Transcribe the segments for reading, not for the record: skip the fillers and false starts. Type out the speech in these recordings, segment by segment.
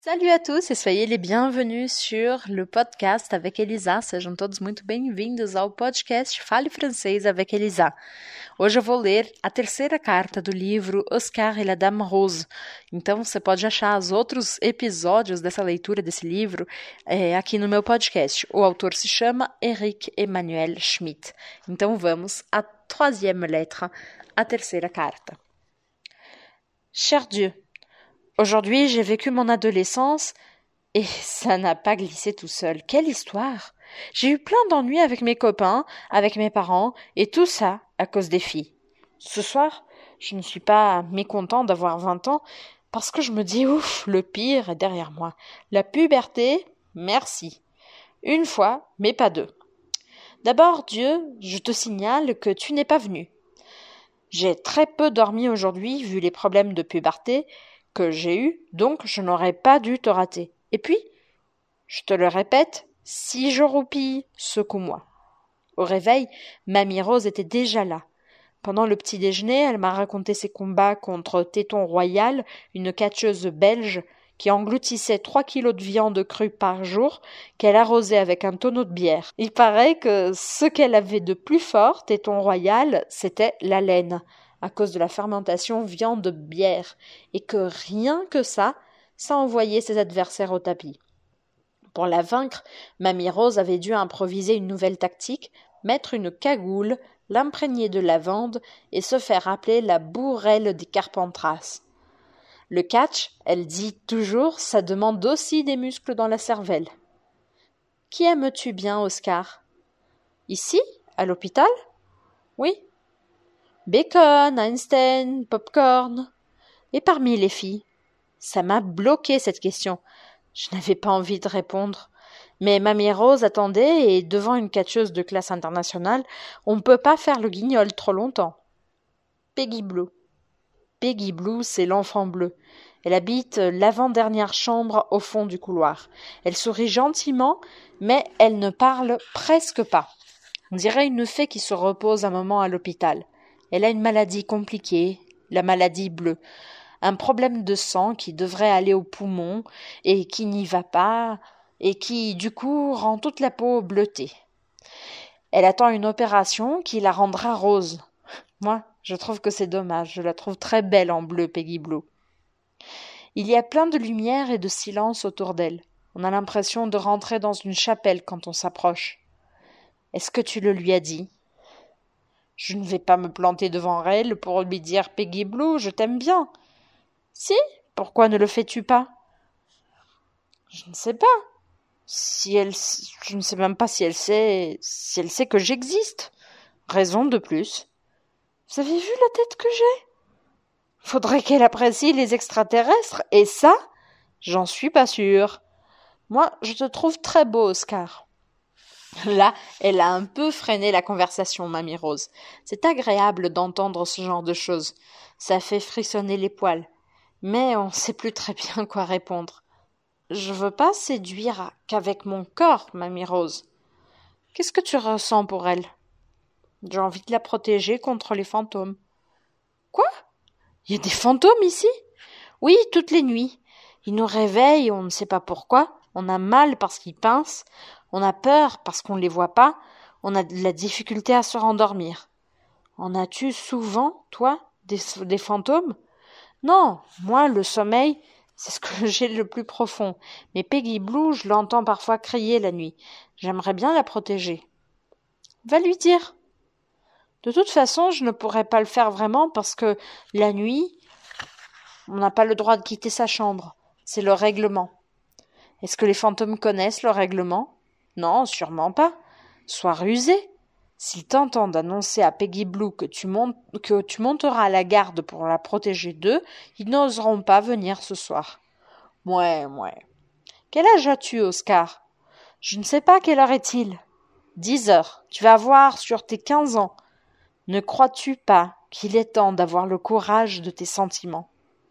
Salut à tous e soyez les bienvenus sur le podcast avec Elisa. Sejam todos muito bem-vindos ao podcast Fale Francês avec Elisa. Hoje eu vou ler a terceira carta do livro Oscar et la Dame Rose. Então você pode achar os outros episódios dessa leitura desse livro aqui no meu podcast. O autor se chama Eric Emmanuel Schmitt. Então vamos à troisième lettre, a terceira carta. Cher Dieu, aujourd'hui, j'ai vécu mon adolescence et ça n'a pas glissé tout seul. Quelle histoire! J'ai eu plein d'ennuis avec mes copains, avec mes parents, et tout ça à cause des filles. Ce soir, je ne suis pas mécontent d'avoir 20 ans parce que je me dis, ouf, le pire est derrière moi. La puberté, merci. Une fois, mais pas deux. D'abord, Dieu, je te signale que tu n'es pas venu. J'ai très peu dormi aujourd'hui vu les problèmes de puberté que j'ai eu, donc je n'aurais pas dû te rater. Et puis, je te le répète, si je roupille, secoue-moi. Au réveil, Mamie Rose était déjà là. Pendant le petit déjeuner, elle m'a raconté ses combats contre Téton Royal, une catcheuse belge qui engloutissait 3 kilos de viande crue par jour qu'elle arrosait avec un tonneau de bière. Il paraît que ce qu'elle avait de plus fort, Téton Royal, c'était la laine, à cause de la fermentation viande-bière, et que rien que ça envoyait ses adversaires au tapis. Pour la vaincre, Mamie Rose avait dû improviser une nouvelle tactique, mettre une cagoule, l'imprégner de lavande et se faire appeler la bourrelle des Carpentras. Le catch, elle dit toujours, ça demande aussi des muscles dans la cervelle. Qui aimes-tu bien, Oscar? Ici, à l'hôpital? Oui. Bacon, Einstein, popcorn. Et parmi les filles? Ça m'a bloqué cette question. Je n'avais pas envie de répondre. Mais Mamie Rose attendait et devant une catcheuse de classe internationale, on ne peut pas faire le guignol trop longtemps. Peggy Blue. Peggy Blue, c'est l'enfant bleu. Elle habite l'avant-dernière chambre au fond du couloir. Elle sourit gentiment, mais elle ne parle presque pas. On dirait une fée qui se repose un moment à l'hôpital. Elle a une maladie compliquée, la maladie bleue. Un problème de sang qui devrait aller aux poumons et qui n'y va pas et qui, du coup, rend toute la peau bleutée. Elle attend une opération qui la rendra rose. Moi, je trouve que c'est dommage. Je la trouve très belle en bleu, Peggy Blue. Il y a plein de lumière et de silence autour d'elle. On a l'impression de rentrer dans une chapelle quand on s'approche. Est-ce que tu le lui as dit? Je ne vais pas me planter devant elle pour lui dire « Peggy Blue, je t'aime bien ». Si, pourquoi ne le fais-tu pas? Je ne sais pas. Je ne sais même pas si elle sait que j'existe. Raison de plus. Vous avez vu la tête que j'ai? Faudrait qu'elle apprécie les extraterrestres, et ça, j'en suis pas sûre. Moi, je te trouve très beau, Oscar. Là, elle a un peu freiné la conversation, Mamie Rose. C'est agréable d'entendre ce genre de choses. Ça fait frissonner les poils. Mais on ne sait plus très bien quoi répondre. Je veux pas séduire qu'avec mon corps, Mamie Rose. Qu'est-ce que tu ressens pour elle? J'ai envie de la protéger contre les fantômes. Quoi? Il y a des fantômes ici? Oui, toutes les nuits. Ils nous réveillent, on ne sait pas pourquoi. On a mal parce qu'ils pincent. On a peur parce qu'on ne les voit pas. On a de la difficulté à se rendormir. En as-tu souvent, toi, des fantômes? Non, moi, le sommeil, c'est ce que j'ai le plus profond. Mais Peggy Blue, je l'entends parfois crier la nuit. J'aimerais bien la protéger. Va lui dire. De toute façon, je ne pourrais pas le faire vraiment parce que la nuit, on n'a pas le droit de quitter sa chambre. C'est le règlement. Est-ce que les fantômes connaissent le règlement? Non, sûrement pas. Sois rusé. S'ils t'entendent annoncer à Peggy Blue que tu monteras à la garde pour la protéger d'eux, ils n'oseront pas venir ce soir. Mouais. Quel âge as-tu, Oscar? Je ne sais pas, quelle heure est-il? 10 heures. Tu vas voir sur tes 15 ans. Ne crois-tu pas qu'il est temps d'avoir le courage de tes sentiments?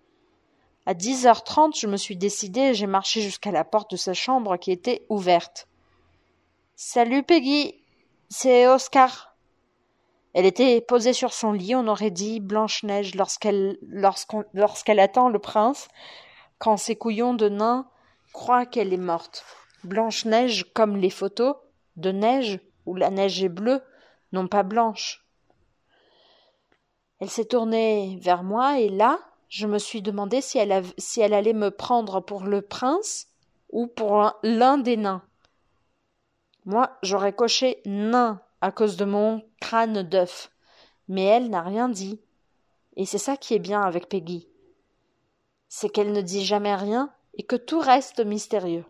À 10h30, je me suis décidée et j'ai marché jusqu'à la porte de sa chambre qui était ouverte. Salut Peggy, c'est Oscar. Elle était posée sur son lit, on aurait dit Blanche-Neige lorsqu'elle attend le prince, quand ses couillons de nain crois qu'elle est morte. Blanche-Neige comme les photos de neige où la neige est bleue, non pas blanche. Elle s'est tournée vers moi et là, je me suis demandé si elle allait me prendre pour le prince ou pour l'un des nains. Moi, j'aurais coché nain à cause de mon crâne d'œuf. Mais elle n'a rien dit. Et c'est ça qui est bien avec Peggy. C'est qu'elle ne dit jamais rien et que tout reste mystérieux.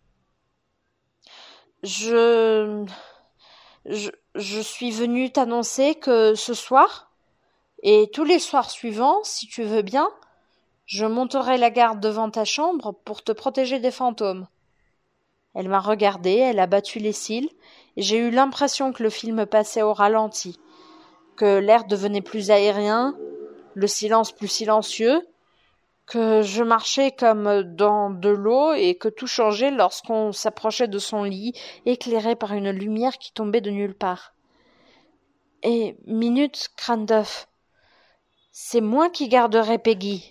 Je suis venue t'annoncer que ce soir, et tous les soirs suivants, si tu veux bien, je monterai la garde devant ta chambre pour te protéger des fantômes. Elle m'a regardée, elle a battu les cils, et j'ai eu l'impression que le film passait au ralenti, que l'air devenait plus aérien, le silence plus silencieux, que je marchais comme dans de l'eau et que tout changeait lorsqu'on s'approchait de son lit, éclairé par une lumière qui tombait de nulle part. Et, minute, crâne d'œuf, c'est moi qui garderai Peggy.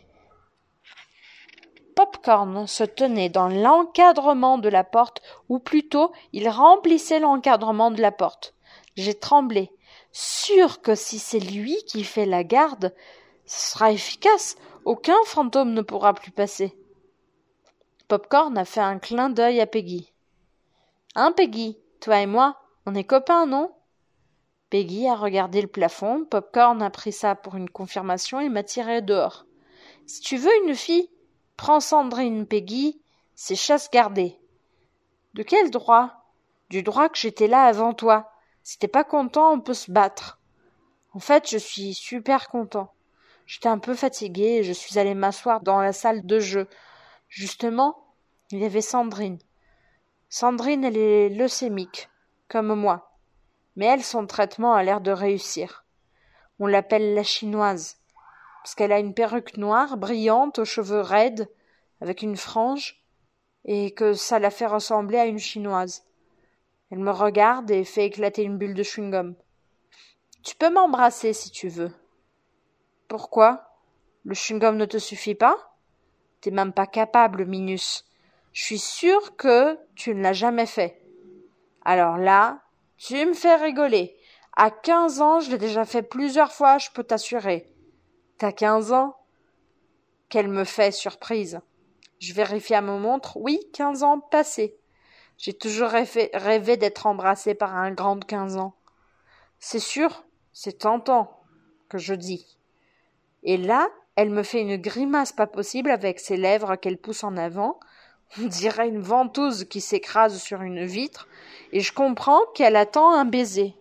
Popcorn se tenait dans l'encadrement de la porte, ou plutôt il remplissait l'encadrement de la porte. J'ai tremblé, sûr que si c'est lui qui fait la garde, ce sera efficace, aucun fantôme ne pourra plus passer. Popcorn a fait un clin d'œil à Peggy. « Hein, Peggy, toi et moi, on est copains, non ?» Peggy a regardé le plafond, Popcorn a pris ça pour une confirmation et m'a tiré dehors. « Si tu veux une fille, prends Sandrine, Peggy, c'est chasse gardée. »« De quel droit ?»« Du droit que j'étais là avant toi. Si t'es pas content, on peut se battre. »« En fait, je suis super content. J'étais un peu fatiguée et je suis allée m'asseoir dans la salle de jeu. Justement, il y avait Sandrine. Sandrine, elle est leucémique, comme moi. Mais elle, son traitement a l'air de réussir. On l'appelle la chinoise, parce qu'elle a une perruque noire, brillante, aux cheveux raides, avec une frange, et que ça la fait ressembler à une chinoise. Elle me regarde et fait éclater une bulle de chewing-gum. « Tu peux m'embrasser si tu veux. » « Pourquoi ? Le chewing-gum ne te suffit pas ? T'es même pas capable, Minus. Je suis sûre que tu ne l'as jamais fait. Alors là, tu me fais rigoler. À 15 ans, je l'ai déjà fait plusieurs fois, je peux t'assurer. T'as 15 ans ? Qu'elle me fait surprise. Je vérifie à ma montre. Oui, 15 ans passés. J'ai toujours rêvé d'être embrassée par un grand de 15 ans. C'est sûr, c'est tentant, que je dis. Et là, elle me fait une grimace pas possible avec ses lèvres qu'elle pousse en avant. On dirait une ventouse qui s'écrase sur une vitre, et je comprends qu'elle attend un baiser.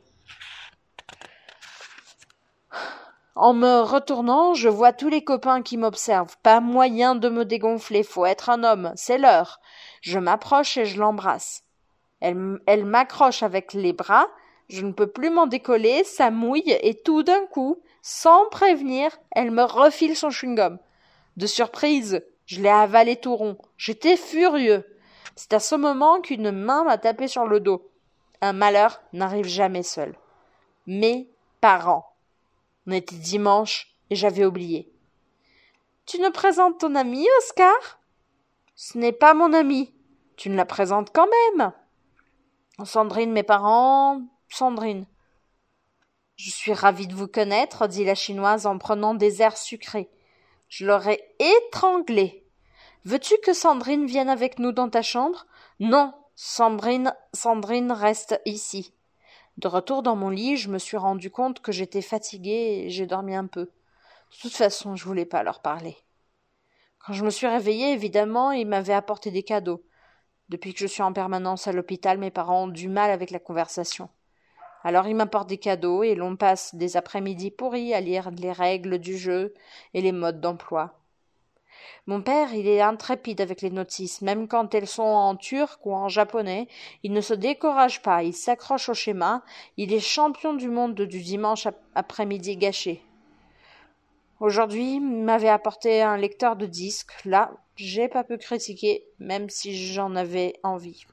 En me retournant, je vois tous les copains qui m'observent. Pas moyen de me dégonfler, faut être un homme, c'est l'heure. Je m'approche et je l'embrasse. Elle m'accroche avec les bras, je ne peux plus m'en décoller, ça mouille, et tout d'un coup, sans prévenir, elle me refile son chewing-gum. De surprise, je l'ai avalé tout rond. J'étais furieux. C'est à ce moment qu'une main m'a tapé sur le dos. Un malheur n'arrive jamais seul. Mes parents. On était dimanche et j'avais oublié. « Tu nous présentes ton ami, Oscar ?»« Ce n'est pas mon ami. Tu me la présentes quand même. » « Sandrine, mes parents, Sandrine. »« Je suis ravie de vous connaître, » dit la chinoise en prenant des airs sucrés. Je l'aurais étranglée. « Veux-tu que Sandrine vienne avec nous dans ta chambre ? » ?»« Non, Sandrine reste ici. » De retour dans mon lit, je me suis rendu compte que j'étais fatiguée et j'ai dormi un peu. De toute façon, je voulais pas leur parler. Quand je me suis réveillée, évidemment, ils m'avaient apporté des cadeaux. Depuis que je suis en permanence à l'hôpital, mes parents ont du mal avec la conversation. Alors ils m'apportent des cadeaux et l'on passe des après-midi pourris à lire les règles du jeu et les modes d'emploi. Mon père, il est intrépide avec les notices, même quand elles sont en turc ou en japonais, il ne se décourage pas, il s'accroche au schéma, il est champion du monde du dimanche après-midi gâché. Aujourd'hui, il m'avait apporté un lecteur de disques. Là, j'ai pas pu critiquer, même si j'en avais envie.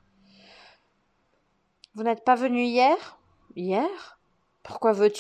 Vous n'êtes pas venu hier ? Hier ? Pourquoi veux-tu ?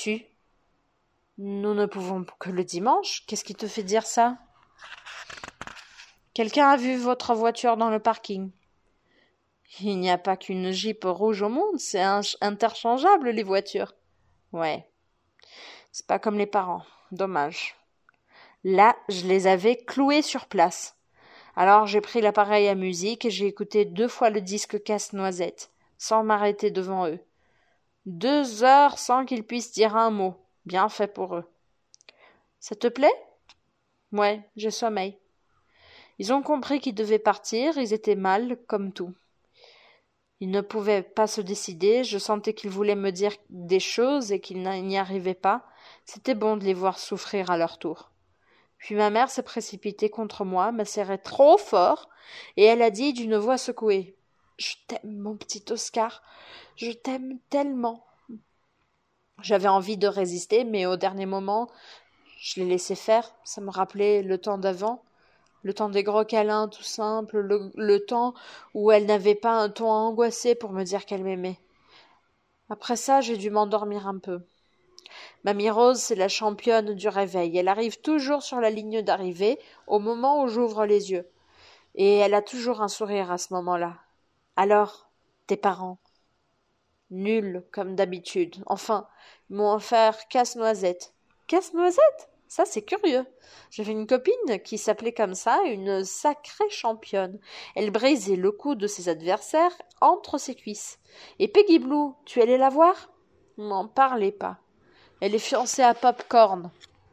Nous ne pouvons que le dimanche. Qu'est-ce qui te fait dire ça ? Quelqu'un a vu votre voiture dans le parking. Il n'y a pas qu'une Jeep rouge au monde, c'est interchangeable les voitures. Ouais, c'est pas comme les parents, dommage. Là, je les avais cloués sur place. Alors j'ai pris l'appareil à musique et j'ai écouté 2 fois le disque Casse-Noisette, sans m'arrêter devant eux. 2 heures sans qu'ils puissent dire un mot. Bien fait pour eux. Ça te plaît? Ouais, j'ai sommeil. Ils ont compris qu'ils devaient partir, ils étaient mal, comme tout. Ils ne pouvaient pas se décider, je sentais qu'ils voulaient me dire des choses et qu'ils n'y arrivaient pas. C'était bon de les voir souffrir à leur tour. Puis ma mère s'est précipitée contre moi, m'a serré trop fort, et elle a dit d'une voix secouée: « Je t'aime, mon petit Oscar, je t'aime tellement. » J'avais envie de résister, mais au dernier moment, je l'ai laissé faire. Ça me rappelait le temps d'avant, le temps des gros câlins tout simples, le temps où elle n'avait pas un ton angoissé pour me dire qu'elle m'aimait. Après ça, j'ai dû m'endormir un peu. Mamie Rose, c'est la championne du réveil. Elle arrive toujours sur la ligne d'arrivée au moment où j'ouvre les yeux. Et elle a toujours un sourire à ce moment-là. Alors, tes parents? Nuls, comme d'habitude. Enfin, ils m'ont offert Casse-Noisette. Casse-Noisette? Ça, c'est curieux. J'avais une copine qui s'appelait comme ça, une sacrée championne. Elle brisait le cou de ses adversaires entre ses cuisses. Et Peggy Blue, tu allais la voir? N'en parlez pas. Elle est fiancée à Popcorn.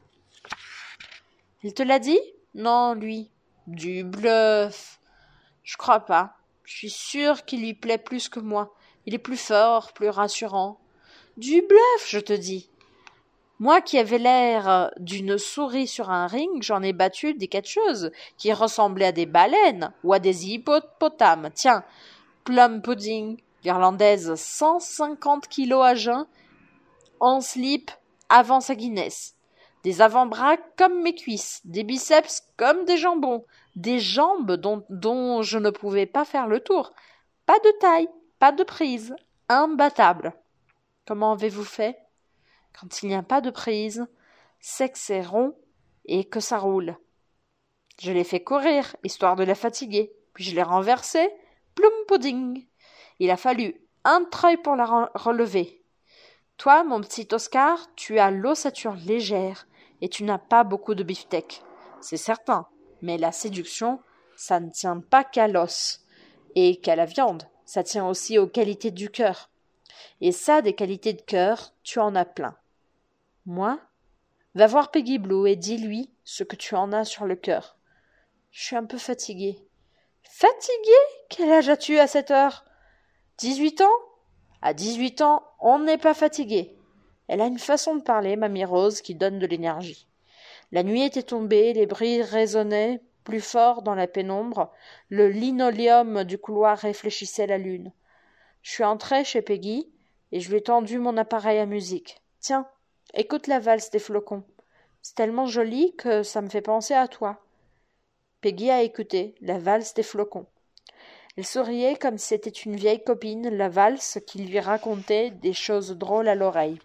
Il te l'a dit? Non, lui. Du bluff. Je crois pas. Je suis sûre qu'il lui plaît plus que moi. Il est plus fort, plus rassurant. Du bluff, je te dis. Moi qui avais l'air d'une souris sur un ring, j'en ai battu des catcheuses qui ressemblaient à des baleines ou à des hippopotames. Tiens, Plum Pudding, l'Irlandaise, 150 kilos à jeun, en slip avant sa Guinness. Des avant-bras comme mes cuisses, des biceps comme des jambons, des jambes dont je ne pouvais pas faire le tour. Pas de taille, pas de prise, imbattable. Comment avez-vous fait? Quand il n'y a pas de prise, c'est que c'est rond et que ça roule. Je l'ai fait courir, histoire de la fatiguer, puis je l'ai renversée, plum pudding. Il a fallu un treuil pour la relever. Toi, mon petit Oscar, tu as l'ossature légère et tu n'as pas beaucoup de beefsteak. C'est certain, mais la séduction, ça ne tient pas qu'à l'os et qu'à la viande, ça tient aussi aux qualités du cœur. Et ça, des qualités de cœur, tu en as plein. Moi? Va voir Peggy Blue et dis-lui ce que tu en as sur le cœur. Je suis un peu fatiguée. Fatiguée? Quel âge as-tu à cette heure? 18 ans? À 18 ans, on n'est pas fatigué. Elle a une façon de parler, Mamie Rose, qui donne de l'énergie. La nuit était tombée, les bruits résonnaient plus fort dans la pénombre, le linoléum du couloir réfléchissait la lune. Je suis entrée chez Peggy et je lui ai tendu mon appareil à musique. Tiens, écoute la valse des flocons. C'est tellement joli que ça me fait penser à toi. Peggy a écouté la valse des flocons. Elle souriait comme si c'était une vieille copine, la valse, qui lui racontait des choses drôles à l'oreille.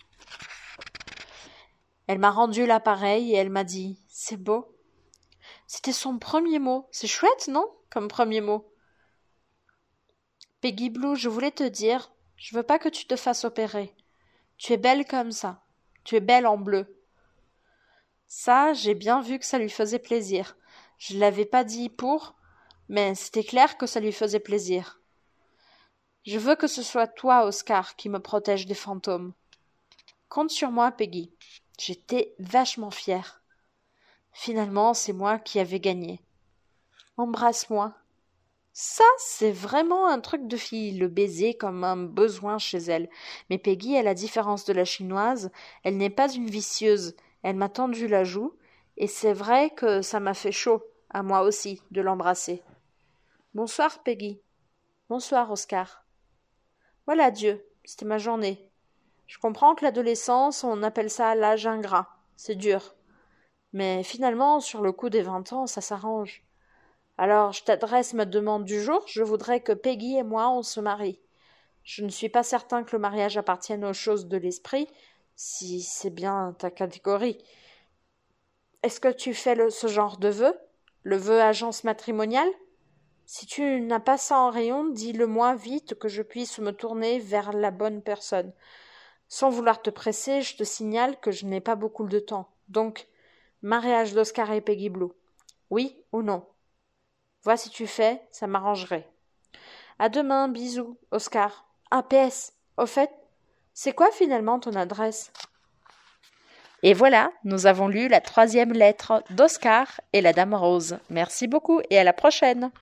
Elle m'a rendu l'appareil et elle m'a dit « C'est beau ». C'était son premier mot. C'est chouette, non, comme premier mot? Peggy Blue, je voulais te dire, je veux pas que tu te fasses opérer. Tu es belle comme ça. Tu es belle en bleu. Ça, j'ai bien vu que ça lui faisait plaisir. Je l'avais pas dit pour, mais c'était clair que ça lui faisait plaisir. Je veux que ce soit toi, Oscar, qui me protège des fantômes. Compte sur moi, Peggy. J'étais vachement fière. Finalement, c'est moi qui avais gagné. Embrasse-moi. Ça, c'est vraiment un truc de fille, le baiser comme un besoin chez elle. Mais Peggy, à la différence de la chinoise, elle n'est pas une vicieuse. Elle m'a tendu la joue, et c'est vrai que ça m'a fait chaud, à moi aussi, de l'embrasser. Bonsoir, Peggy. Bonsoir, Oscar. Voilà, Dieu, c'était ma journée. Je comprends que l'adolescence, on appelle ça l'âge ingrat. C'est dur. Mais finalement, sur le coup des 20 ans, ça s'arrange. Alors, je t'adresse ma demande du jour. Je voudrais que Peggy et moi, on se marie. Je ne suis pas certain que le mariage appartienne aux choses de l'esprit, si c'est bien ta catégorie. Est-ce que tu fais ce genre de vœu? Le vœu agence matrimoniale? Si tu n'as pas ça en rayon, dis-le-moi vite que je puisse me tourner vers la bonne personne. Sans vouloir te presser, je te signale que je n'ai pas beaucoup de temps. Donc, mariage d'Oscar et Peggy Blue. Oui ou non? Vois si tu fais, ça m'arrangerait. À demain, bisous, Oscar. Ah, PS, au fait, c'est quoi finalement ton adresse? Et voilà, nous avons lu la 3e lettre d'Oscar et la Dame Rose. Merci beaucoup et à la prochaine.